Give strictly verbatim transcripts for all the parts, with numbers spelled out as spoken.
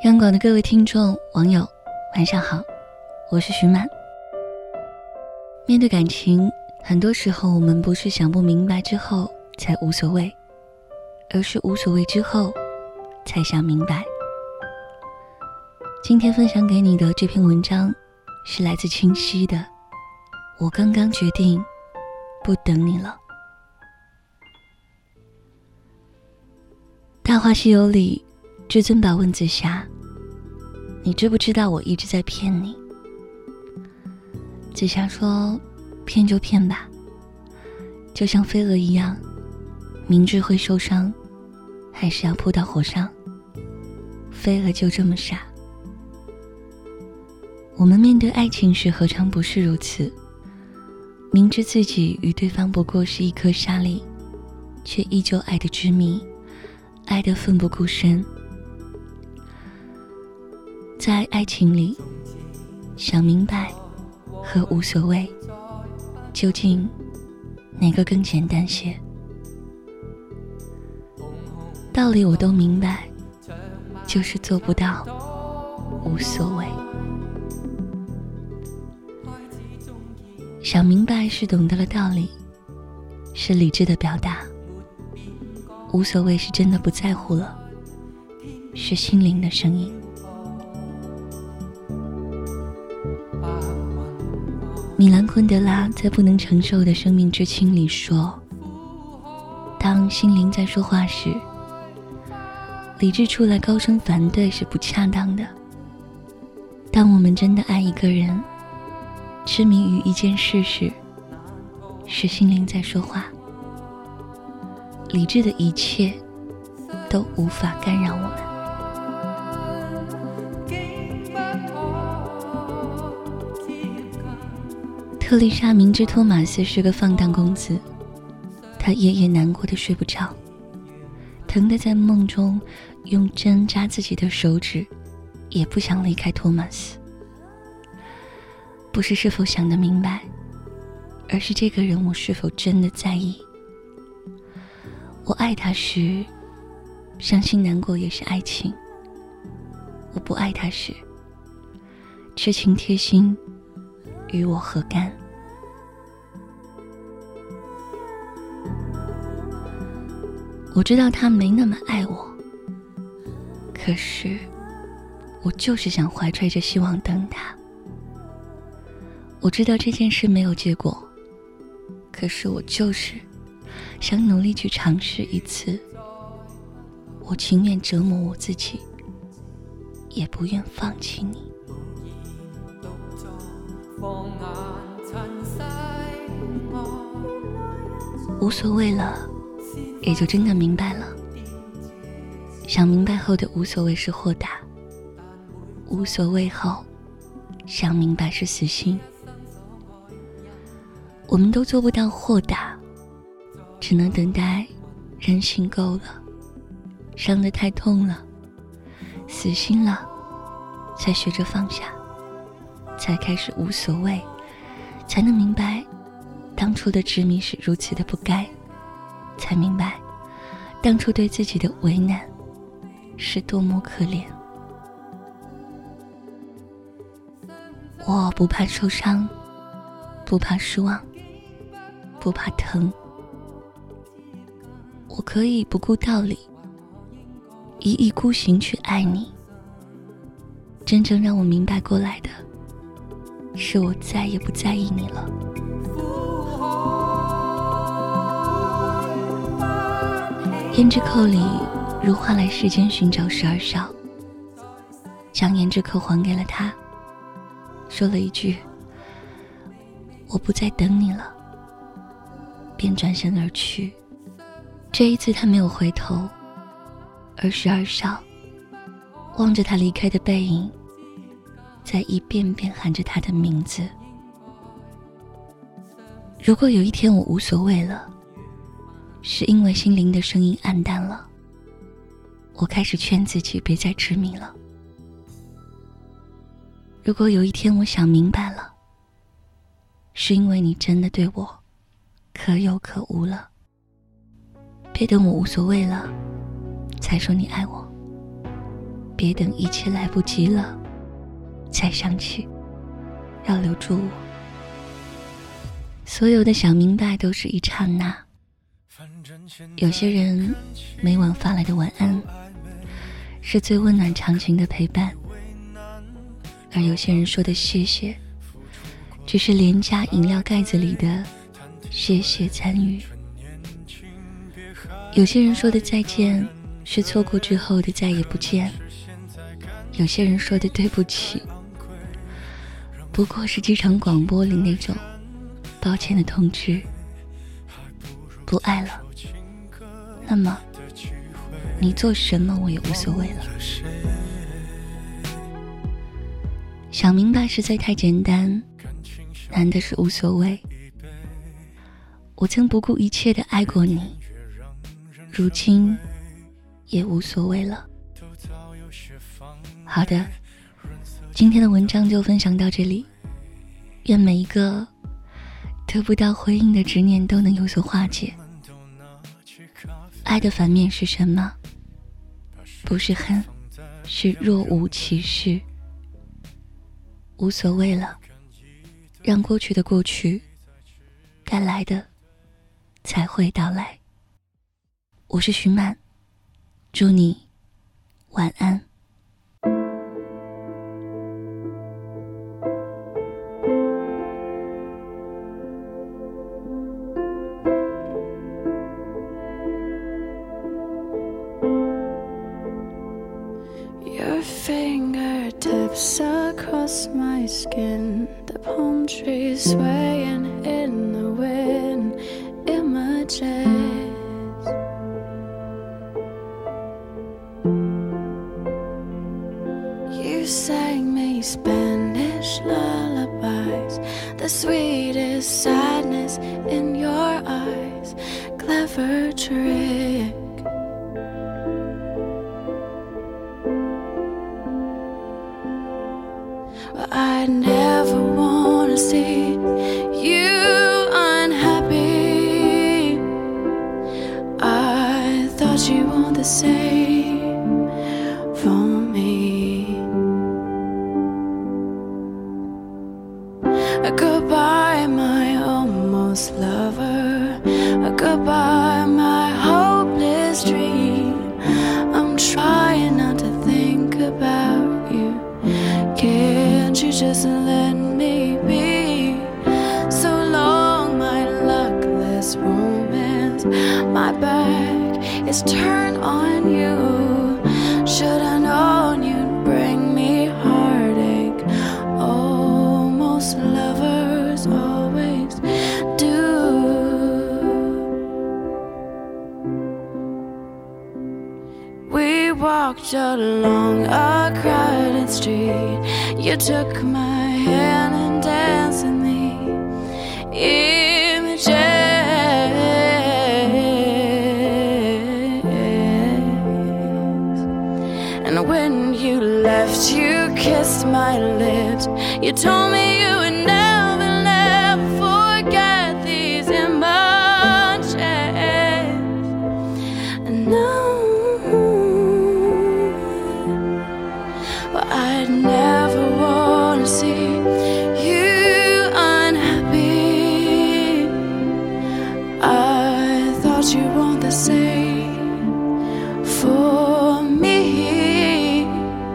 央广的各位听众网友晚上好，我是徐满。面对感情，很多时候我们不是想不明白之后才无所谓，而是无所谓之后才想明白。今天分享给你的这篇文章是来自清晰的，我刚刚决定不等你了。大话西游里，至尊宝问紫霞，你知不知道我一直在骗你？紫霞说，骗就骗吧，就像飞蛾一样，明知会受伤，还是要扑到火上。飞蛾就这么傻。我们面对爱情时何尝不是如此，明知自己与对方不过是一颗沙粒，却依旧爱得执迷，爱得奋不顾身。在爱情里，想明白和无所谓，究竟哪个更简单些？道理我都明白，就是做不到无所谓。想明白是懂得了道理，是理智的表达；无所谓是真的不在乎了，是心灵的声音。米兰昆德拉在《不能承受的生命之轻》里说，当心灵在说话时，理智出来高声反对是不恰当的。当我们真的爱一个人，痴迷于一件事时，是心灵在说话，理智的一切都无法干扰我们。特丽莎明知托马斯是个放荡公子，她夜夜难过的睡不着，疼得在梦中用针扎自己的手指，也不想离开托马斯。不是是否想得明白，而是这个人我是否真的在意。我爱他时，伤心难过也是爱情；我不爱他时，痴情贴心与我何干？我知道他没那么爱我，可是我就是想怀揣着希望等他。我知道这件事没有结果，可是我就是想努力去尝试一次。我情愿折磨我自己，也不愿放弃你。无所谓了，也就真的明白了。想明白后的无所谓是豁达，无所谓后想明白是死心。我们都做不到豁达，只能等待人性够了，伤得太痛了，死心了，才学着放下，才开始无所谓，才能明白当初的执迷是如此的不该，才明白当初对自己的为难是多么可怜。我不怕受伤，不怕失望，不怕疼，我可以不顾道理，一意孤行去爱你。真正让我明白过来的，是我再也不在意你了。胭脂扣里，如花来世间寻找十二少，将胭脂扣还给了他，说了一句，我不再等你了，便转身而去。这一次他没有回头，而十二少望着他离开的背影，在一遍遍喊着他的名字。如果有一天我无所谓了，是因为心灵的声音暗淡了，我开始劝自己别再痴迷了。如果有一天我想明白了，是因为你真的对我可有可无了，别等我无所谓了才说你爱我， 别等一切来不及了才想起要留住我。所有的小明白都是一刹那，有些人每晚发来的晚安是最温暖长情的陪伴，而有些人说的谢谢只是廉价饮料盖子里的谢谢参与。有些人说的再见是错过之后的再也不见，有些人说的对不起不过是机场广播里那种抱歉的通知。不爱了，那么你做什么我也无所谓了。想明白实在太简单，难的是无所谓。我曾不顾一切地爱过你，如今也无所谓了。好的，今天的文章就分享到这里，愿每一个得不到回应的执念都能有所化解。爱的反面是什么？不是恨，是若无其事。无所谓了，让过去的过去，该来的才会到来。我是徐曼，祝你晚安。 Your fingertips across my skin, the palm trees swaying in the wind, images. You sang me Spanish lullabies, the sweetest sadness in your eyes, clever trick. I never wanna see you unhappy. I thought you want the same for me. Goodbye, my almost lover. Goodbye, my hopeless dream. I'm trying not to think about you. Can't you just let me be? So long, my luckless romance. My back is turned on you. Should I known you'd bring me heartache? Oh, most lovers always do. We walked along a crowded street. You took my hand and danced with me. Images. And when you left, you kissed my lips. You told me you would never, never forget these images. And now I'd never wanna see you unhappy. I thought you want the same for me.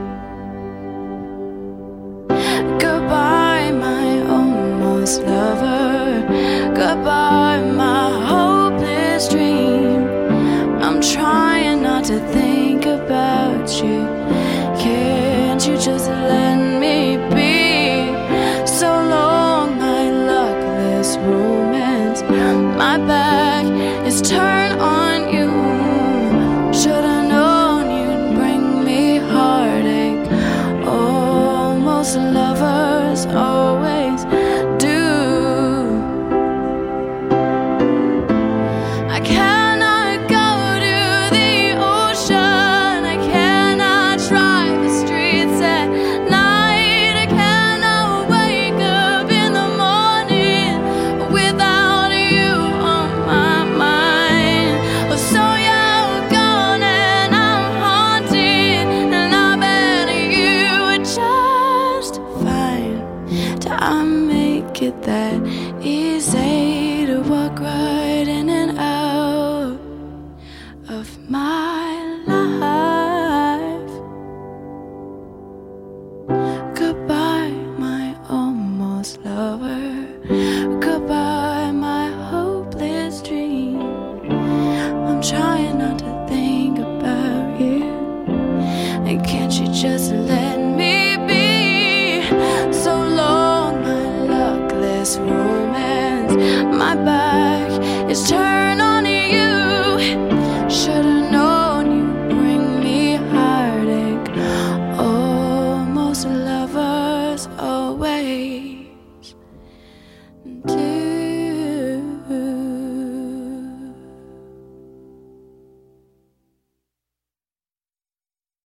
Goodbye, my almost lover. Goodbye, my hopeless dream. I'm trying not to think about you. Can't you just let me be? So long, my luckless romance. My back is turned on you. Should I known you'd bring me heartache? Oh, most lovers always do. I cannot go to the ocean. I cannot drive the streets at night. make it that easy to walk right in and out of my life. Goodbye, my almost lover. Goodbye, my hopeless dream. I'm trying not to think about you, and can't you just let me be? So long, my luckless romance. My back is turned